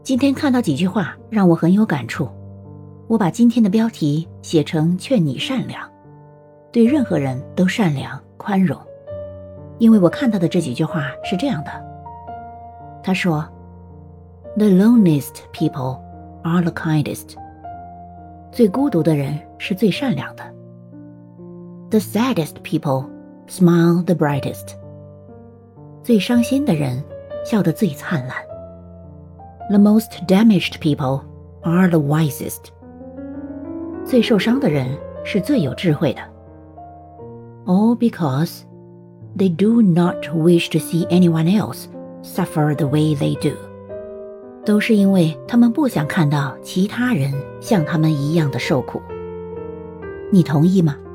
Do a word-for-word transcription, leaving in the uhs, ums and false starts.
今天看到几句话让我很有感触，我把今天的标题写成劝你善良，对任何人都善良宽容。因为我看到的这几句话是这样的，他说 The loneliest people are the kindest， 最孤独的人是最善良的。 The saddest people smile the brightest， 最伤心的人笑得最灿烂。The most damaged people are the wisest， 最受伤的人是最有智慧的。 All because they do not wish to see anyone else suffer the way they do， 都是因为他们不想看到其他人像他们一样的受苦。你同意吗？